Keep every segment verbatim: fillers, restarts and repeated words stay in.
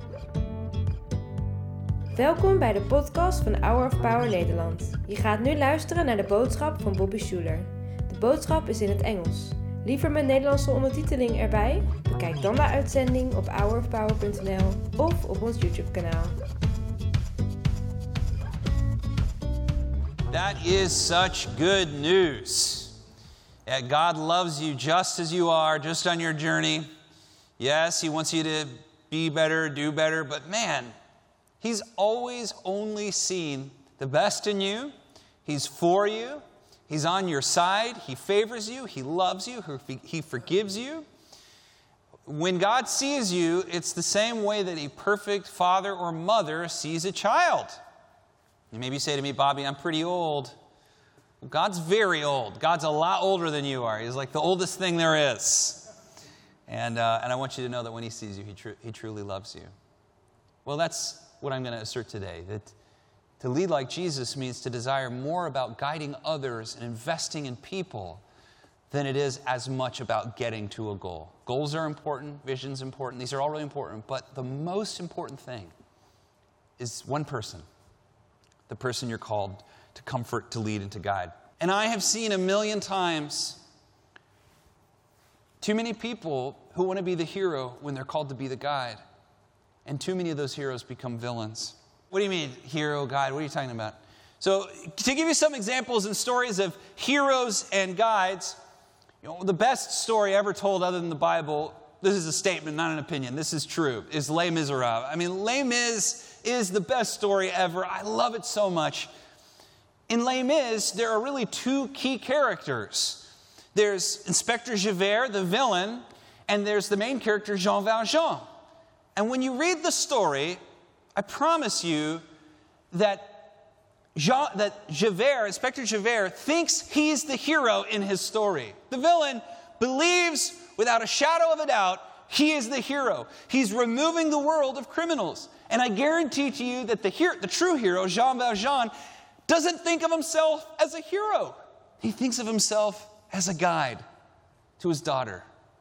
Welkom bij de podcast van Hour of Power Nederland. Je gaat nu luisteren naar de boodschap van Bobby Schuler. De boodschap is in het Engels. Liever met Nederlandse ondertiteling erbij? Bekijk dan de uitzending op hour of power punt n l of op ons YouTube-kanaal. That is such good news. Yeah, God loves you just as you are, just on your journey. Yes, He wants you to be better, do better, but man, He's always only seen the best in you. He's for you. He's on your side. He favors you. He loves you. He forgives you. When God sees you, it's the same way that a perfect father or mother sees a child. You maybe say to me, Bobby, I'm pretty old. Well, God's very old. God's a lot older than you are. He's like the oldest thing there is. And, uh, and I want you to know that when He sees you, He, tr- he truly loves you. Well, that's what I'm going to assert today, that to lead like Jesus means to desire more about guiding others and investing in people than it is as much about getting to a goal. Goals are important, vision's important, these are all really important, but the most important thing is one person, the person you're called to comfort, to lead, and to guide. And I have seen a million times too many people who want to be the hero when they're called to be the guide. And too many of those heroes become villains. What do you mean, hero, guide? What are you talking about? So, to give you some examples and stories of heroes and guides, you know, the best story ever told other than the Bible, this is a statement, not an opinion, this is true, is Les Miserables. I mean, Les Mis is the best story ever. I love it so much. In Les Mis, there are really two key characters. There's Inspector Javert, the villain, and there's the main character, Jean Valjean. And when you read the story, I promise you that Jean, that Javert, Inspector Javert, thinks he's the hero in his story. The villain believes without a shadow of a doubt he is the hero. He's removing the world of criminals. And I guarantee to you that the, hero, the true hero, Jean Valjean, doesn't think of himself as a hero. He thinks of himself as a guide to his daughter.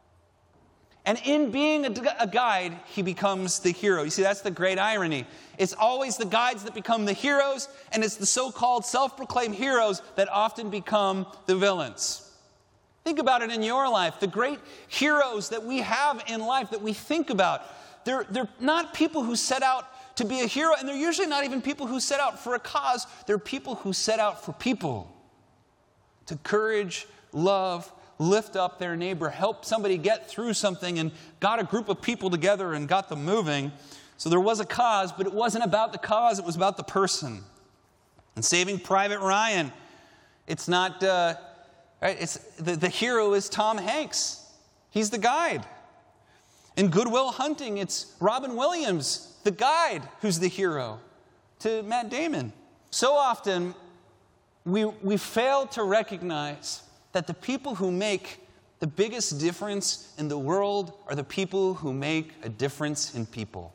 And in being a, a guide, he becomes the hero. You see, that's the great irony. It's always the guides that become the heroes, and it's the so-called self-proclaimed heroes that often become the villains. Think about it in your life. The great heroes that we have in life that we think about, they're, they're not people who set out to be a hero, and they're usually not even people who set out for a cause. They're people who set out for people. To encourage, love, lift up their neighbor, help somebody get through something, and got a group of people together and got them moving. So there was a cause, but it wasn't about the cause, it was about the person. And Saving Private Ryan, it's not, uh, right, it's the, the hero is Tom Hanks. He's the guide. In Good Will Hunting, it's Robin Williams, the guide, who's the hero to Matt Damon. So often, we, we fail to recognize that the people who make the biggest difference in the world are the people who make a difference in people.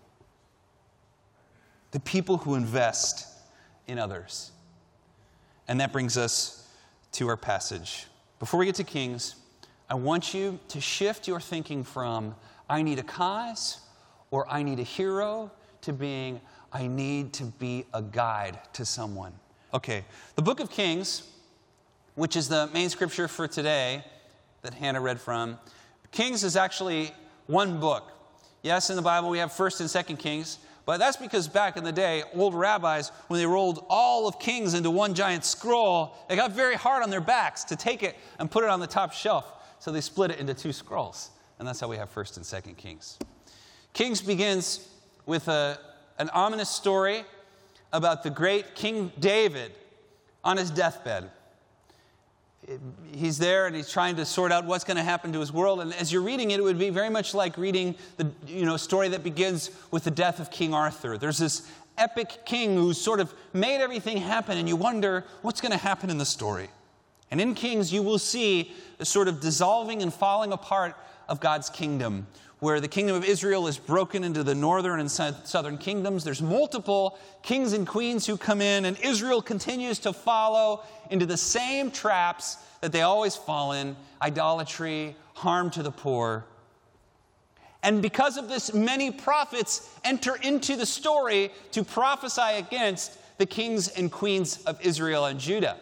The people who invest in others. And that brings us to our passage. Before we get to Kings, I want you to shift your thinking from I need a cause or I need a hero to being I need to be a guide to someone. Okay, the book of Kings, which is the main scripture for today that Hannah read from. Kings is actually one book. Yes, in the Bible we have First and Second Kings, but that's because back in the day, old rabbis, when they rolled all of Kings into one giant scroll, they got very hard on their backs to take it and put it on the top shelf. So they split it into two scrolls, and that's how we have First and Second Kings. Kings begins with a, an ominous story about the great King David on his deathbed. He's there and he's trying to sort out what's going to happen to his world. And as you're reading it, it would be very much like reading the you know story that begins with the death of King Arthur. There's this epic king who's sort of made everything happen, and you wonder what's going to happen in the story. And in Kings, you will see the sort of dissolving and falling apart of God's kingdom, where the kingdom of Israel is broken into the northern and southern kingdoms. There's multiple kings and queens who come in, and Israel continues to follow into the same traps that they always fall in: idolatry, harm to the poor. And because of this, many prophets enter into the story to prophesy against the kings and queens of Israel and Judah.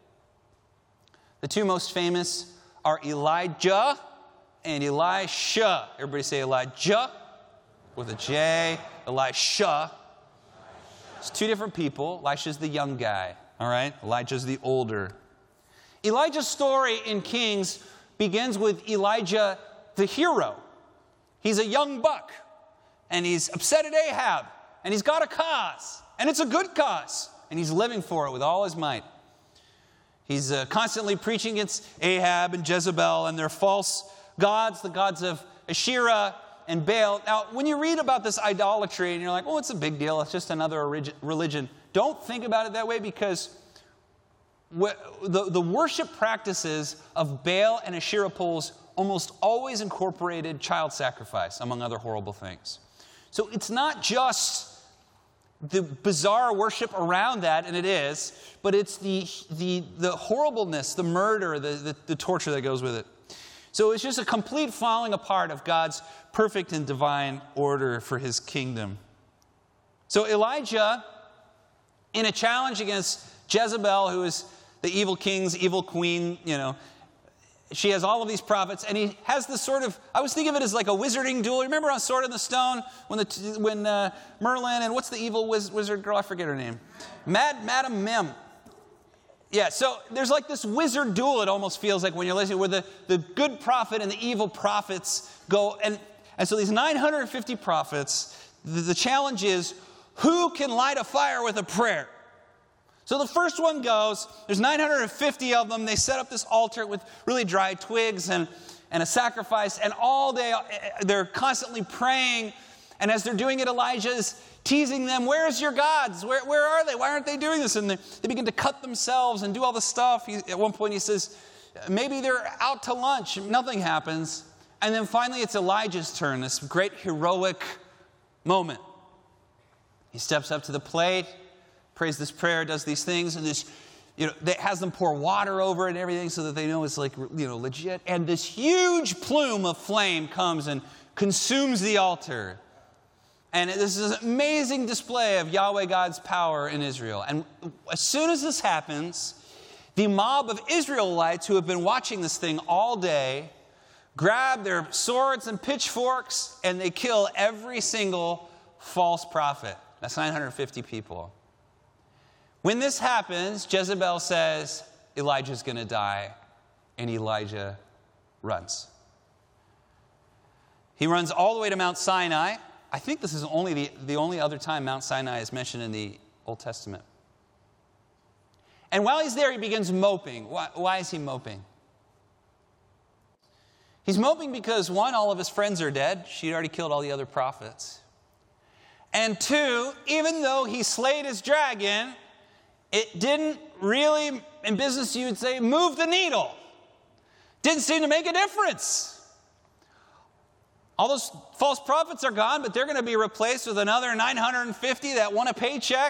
The two most famous are Elijah and Elisha. Everybody say Elijah with a J. Elisha. It's two different people. Elisha's the young guy, all right? Elijah's the older. Elijah's story in Kings begins with Elijah the hero. He's a young buck, and he's upset at Ahab, and he's got a cause, and it's a good cause, and he's living for it with all his might. He's uh, constantly preaching against Ahab and Jezebel and their false gods, the gods of Asherah and Baal. Now, when you read about this idolatry, and you're like, oh, it's a big deal, it's just another religion, don't think about it that way, because the, the worship practices of Baal and Asherah poles almost always incorporated child sacrifice, among other horrible things. So it's not just the bizarre worship around that, and it is, but it's the the, the horribleness, the murder, the, the, the torture that goes with it. So it's just a complete falling apart of God's perfect and divine order for his kingdom. So Elijah, in a challenge against Jezebel, who is the evil king's evil queen, you know, she has all of these prophets, and he has this sort of, I was thinking of it as like a wizarding duel. Remember on Sword in the Stone, when the when uh, Merlin, and what's the evil wiz, wizard girl? I forget her name. Mad, Madam Mim. Yeah, so there's like this wizard duel, it almost feels like when you're listening, where the, the good prophet and the evil prophets go, and, and so these nine hundred fifty prophets, the, the challenge is, who can light a fire with a prayer? So the first one goes, there's nine hundred fifty of them. They set up this altar with really dry twigs and, and a sacrifice. And all day, they're constantly praying. And as they're doing it, Elijah is teasing them, where's your gods? Where, where are they? Why aren't they doing this? And they, they begin to cut themselves and do all this stuff. He, at one point he says, maybe they're out to lunch. Nothing happens. And then finally it's Elijah's turn, this great heroic moment. He steps up to the plate, prays this prayer, does these things, and this, you know, that has them pour water over it and everything so that they know it's like, you know, legit. And this huge plume of flame comes and consumes the altar. And this is an amazing display of Yahweh God's power in Israel. And as soon as this happens, the mob of Israelites who have been watching this thing all day grab their swords and pitchforks and they kill every single false prophet. That's nine hundred fifty people. When this happens, Jezebel says, Elijah's going to die, and Elijah runs. He runs all the way to Mount Sinai. I think this is only the, the only other time Mount Sinai is mentioned in the Old Testament. And while he's there, he begins moping. Why, why is he moping? He's moping because, one, all of his friends are dead. She'd already killed all the other prophets. And two, even though he slayed his dragon, it didn't really, in business you would say, move the needle. Didn't seem to make a difference. All those false prophets are gone, but they're going to be replaced with another nine hundred fifty that want a paycheck.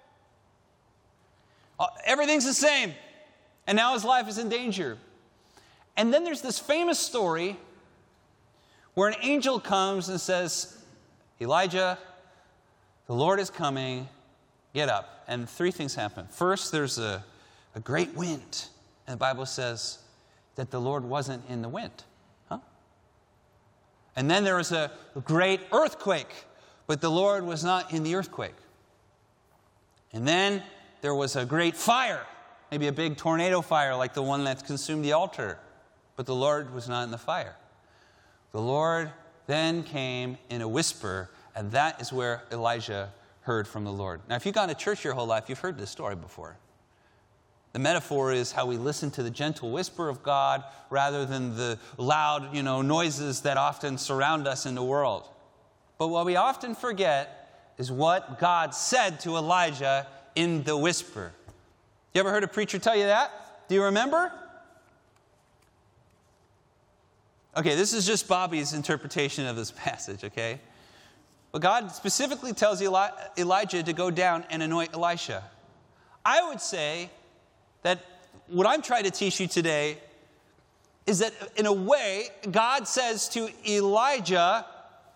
Everything's the same. And now his life is in danger. And then there's this famous story where an angel comes and says, Elijah, the Lord is coming, get up. And three things happen. First, there's a, a great wind. And the Bible says that the Lord wasn't in the wind. Huh? And then there was a great earthquake, but the Lord was not in the earthquake. And then there was a great fire, maybe a big tornado fire like the one that consumed the altar, but the Lord was not in the fire. The Lord then came in a whisper, and that is where Elijah heard from the Lord. Now, if you've gone to church your whole life, you've heard this story before. The metaphor is how we listen to the gentle whisper of God rather than the loud, you know, noises that often surround us in the world. But what we often forget is what God said to Elijah in the whisper. You ever heard a preacher tell you that? Do you remember? Okay, this is just Bobby's interpretation of this passage, okay? But God specifically tells Eli- Elijah to go down and anoint Elisha. I would say that what I'm trying to teach you today is that in a way, God says to Elijah,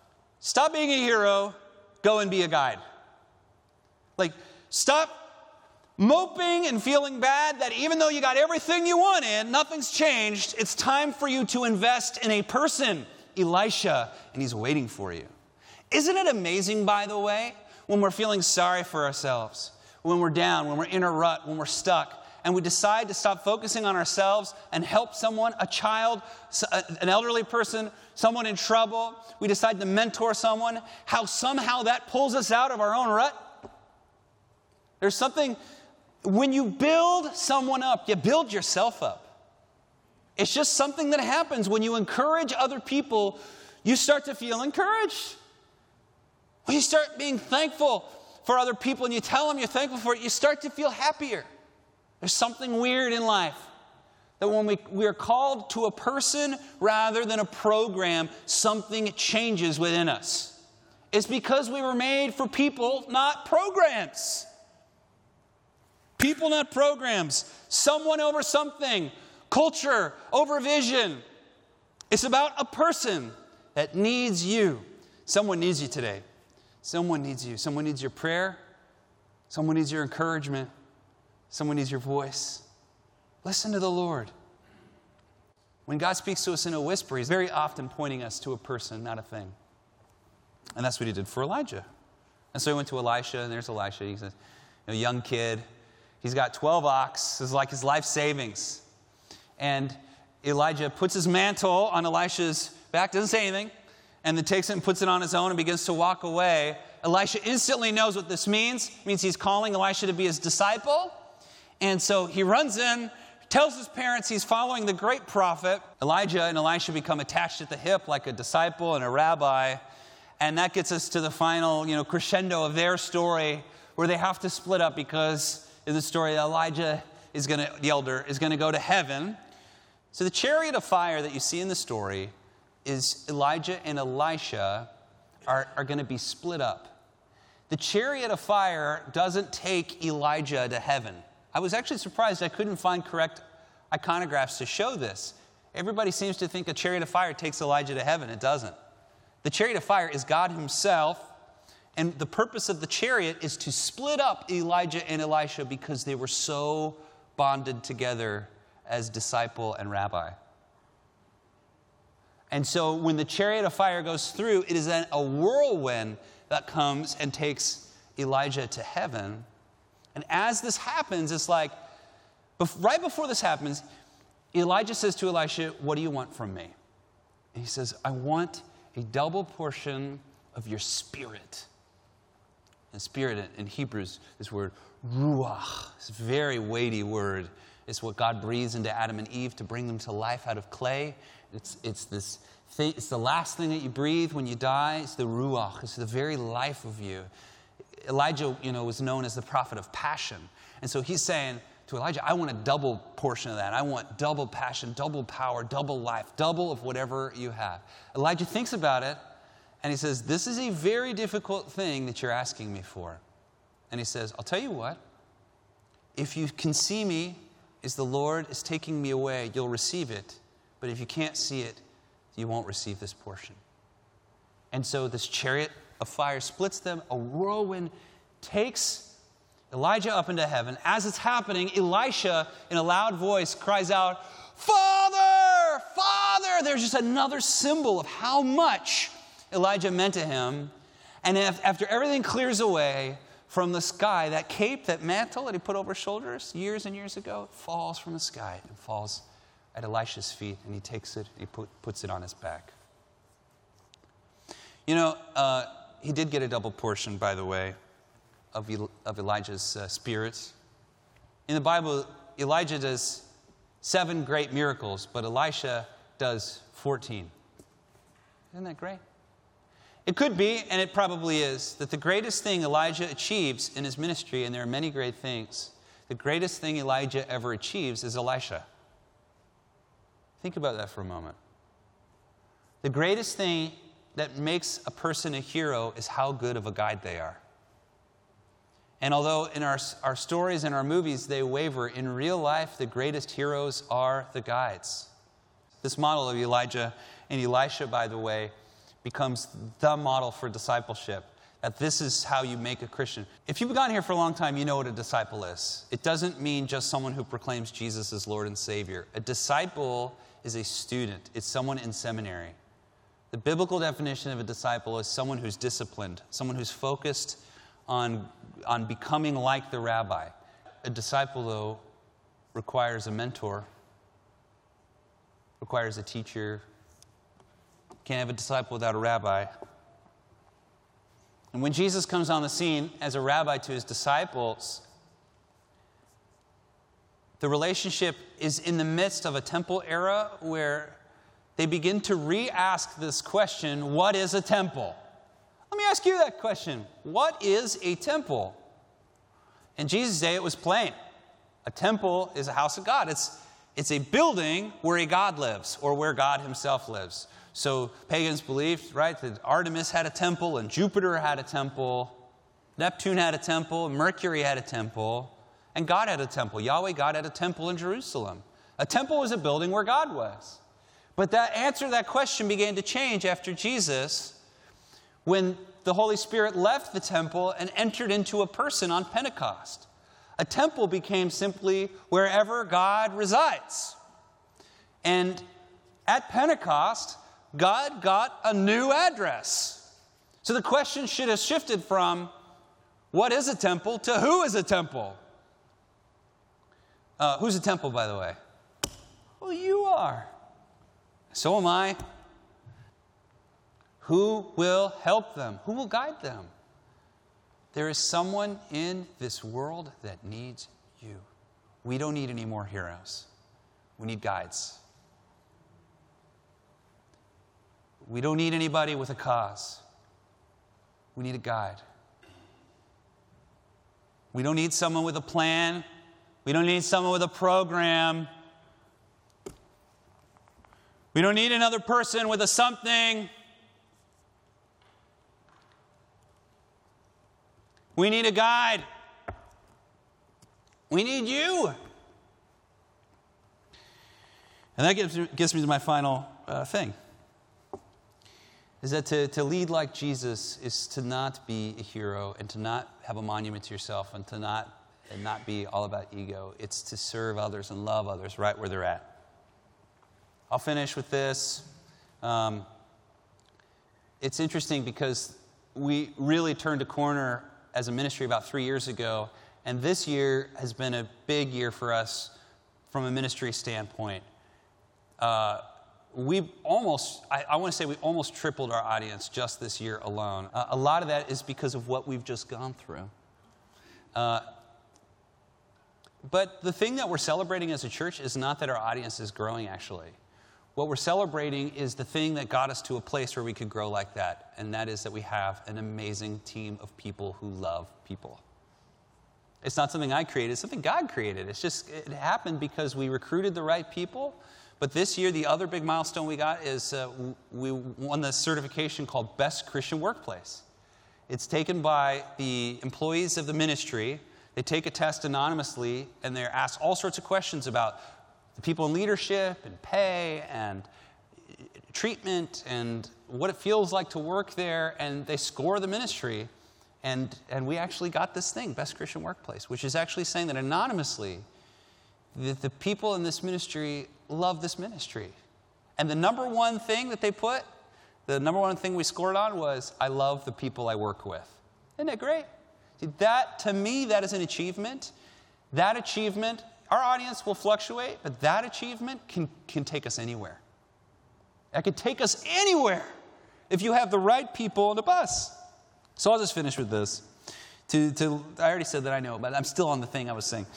Stop being a hero, go and be a guide. Like, stop moping and feeling bad that even though you got everything you wanted, nothing's changed. It's time for you to invest in a person, Elisha, and he's waiting for you. Isn't it amazing, by the way, when we're feeling sorry for ourselves, when we're down, when we're in a rut, when we're stuck, and we decide to stop focusing on ourselves and help someone, a child, an elderly person, someone in trouble. We decide to mentor someone, how somehow that pulls us out of our own rut. There's something, when you build someone up, you build yourself up. It's just something that happens when you encourage other people. You start to feel encouraged. When you start being thankful for other people and you tell them you're thankful for it, you start to feel happier. There's something weird in life that when we, we are called to a person rather than a program, something changes within us. It's because we were made for people, not programs. People, not programs. Someone over something. Culture over vision. It's about a person that needs you. Someone needs you today. Someone needs you. Someone needs your prayer. Someone needs your encouragement. Someone needs your voice. Listen to the Lord. When God speaks to us in a whisper, he's very often pointing us to a person, not a thing. And that's what he did for Elijah. And so he went to Elisha, and there's Elisha. He's a, a young kid. He's got twelve ox. It's like his life savings. And Elijah puts his mantle on Elisha's back, doesn't say anything, and then takes it and puts it on his own and begins to walk away. Elisha instantly knows what this means. It means he's calling Elisha to be his disciple. And so he runs in, tells his parents he's following the great prophet. Elijah and Elisha become attached at the hip like a disciple and a rabbi. And that gets us to the final, you know, crescendo of their story where they have to split up because in the story Elijah is going to, the elder, is going to go to heaven. So the chariot of fire that you see in the story is Elijah and Elisha are, are going to be split up. The chariot of fire doesn't take Elijah to heaven. I was actually surprised I couldn't find correct iconographs to show this. Everybody seems to think a chariot of fire takes Elijah to heaven. It doesn't. The chariot of fire is God himself, and the purpose of the chariot is to split up Elijah and Elisha because they were so bonded together as disciple and rabbi. And so when the chariot of fire goes through, it is then a whirlwind that comes and takes Elijah to heaven. And as this happens, it's like, right before this happens, Elijah says to Elisha, what do you want from me? And he says, I want a double portion of your spirit. And spirit in Hebrew, this word, ruach, this very weighty word. It's what God breathes into Adam and Eve to bring them to life out of clay. It's, it's this thing, it's the last thing that you breathe when you die. It's the ruach. It's the very life of you. Elijah, you know, was known as the prophet of passion. And so he's saying to Elijah, I want a double portion of that. I want double passion, double power, double life, double of whatever you have. Elijah thinks about it, and he says, this is a very difficult thing that you're asking me for. And he says, I'll tell you what. If you can see me as the Lord is taking me away, you'll receive it. But if you can't see it, you won't receive this portion. And so this chariot of fire splits them. A whirlwind takes Elijah up into heaven. As it's happening, Elisha, in a loud voice, cries out, Father! Father! There's just another symbol of how much Elijah meant to him. And if, after everything clears away from the sky, that cape, that mantle that he put over his shoulders years and years ago, falls from the sky and falls at Elisha's feet. And he takes it and he put, puts it on his back. You know, uh, he did get a double portion, by the way, of, El- of Elijah's uh, spirit. In the Bible, Elijah does seven great miracles, but Elisha does fourteen. Isn't that great? It could be, and it probably is, that the greatest thing Elijah achieves in his ministry, and there are many great things, the greatest thing Elijah ever achieves is Elisha. Think about that for a moment. The greatest thing that makes a person a hero is how good of a guide they are. And although in our, our stories and our movies they waver, in real life the greatest heroes are the guides. This model of Elijah and Elisha, by the way, becomes the model for discipleship. That this is how you make a Christian. If you've gone here for a long time, you know what a disciple is. It doesn't mean just someone who proclaims Jesus as Lord and Savior. A disciple is a student. It's someone in seminary. The biblical definition of a disciple is someone who's disciplined, someone who's focused on, on becoming like the rabbi. A disciple, though, requires a mentor, requires a teacher. Can't have a disciple without a rabbi. And when Jesus comes on the scene as a rabbi to his disciples, the relationship is in the midst of a temple era where they begin to re-ask this question, what is a temple? Let me ask you that question. What is a temple? In Jesus' day, it was plain. A temple is a house of God. It's, it's a building where a God lives or where God himself lives. So pagans believed, right, that Artemis had a temple and Jupiter had a temple. Neptune had a temple. Mercury had a temple. And God had a temple. Yahweh God had a temple in Jerusalem. A temple was a building where God was. But that answer to that question began to change after Jesus when the Holy Spirit left the temple and entered into a person on Pentecost. A temple became simply wherever God resides. And at Pentecost, God got a new address. So the question should have shifted from what is a temple to who is a temple? Uh, who's a temple, by the way? Well, you are. So am I. Who will help them? Who will guide them? There is someone in this world that needs you. We don't need any more heroes. We need guides. We don't need anybody with a cause. We need a guide. We don't need someone with a plan. We don't need someone with a program. We don't need another person with a something. We need a guide. We need you. And that gets, gets me to my final uh, thing. Is that to, to lead like Jesus is to not be a hero and to not have a monument to yourself and to not, and not be all about ego. It's to serve others and love others right where they're at. I'll finish with this. Um, it's interesting because we really turned a corner as a ministry about three years ago, and this year has been a big year for us from a ministry standpoint. Uh, we almost, I, I want to say we almost tripled our audience just this year alone. Uh, a lot of that is because of what we've just gone through. Uh, but the thing that we're celebrating as a church is not that our audience is growing, actually. What we're celebrating is the thing that got us to a place where we could grow like that, and that is that we have an amazing team of people who love people. It's not something I created, it's something God created. It's just, it happened because we recruited the right people. But this year, the other big milestone we got is uh, we won the certification called Best Christian Workplace. It's taken by the employees of the ministry. They take a test anonymously, and they're asked all sorts of questions about the people in leadership and pay and treatment and what it feels like to work there, and they score the ministry. And, and we actually got this thing, Best Christian Workplace, which is actually saying that anonymously, that the people in this ministry love this ministry. And the number one thing that they put, the number one thing we scored on was, I love the people I work with. Isn't that great? See, that, to me, that is an achievement. That achievement, our audience will fluctuate, but that achievement can, can take us anywhere. That could take us anywhere if you have the right people on the bus. So I'll just finish with this. To, to, I already said that I know, but I'm still on the thing I was saying.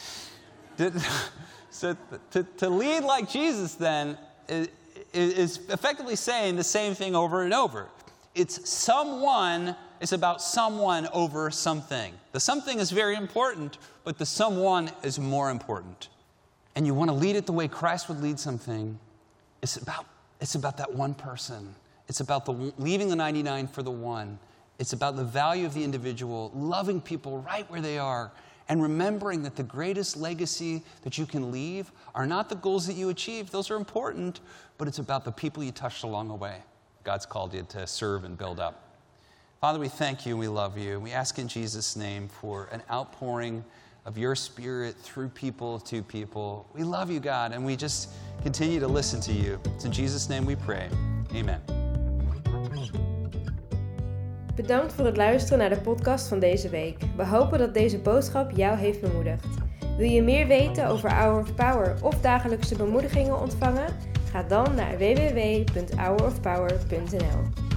So to, to lead like Jesus, then, is, is effectively saying the same thing over and over. It's someone, it's about someone over something. The something is very important, but the someone is more important. And you want to lead it the way Christ would lead something. It's about, it's about that one person. It's about the leaving the ninety-nine for the one. It's about the value of the individual, loving people right where they are, and remembering that the greatest legacy that you can leave are not the goals that you achieve. Those are important, but it's about the people you touched along the way. God God's called you to serve and build up. Father, we thank you and we love you. We ask in Jesus' name for an outpouring of your Spirit through people to people. We love you, God, and we just continue to listen to you. It's in Jesus' name we pray. Amen. Bedankt voor het luisteren naar de podcast van deze week. We hopen dat deze boodschap jou heeft bemoedigd. Wil je meer weten over Hour of Power of dagelijkse bemoedigingen ontvangen? Ga dan naar w w w punt hour of power punt n l.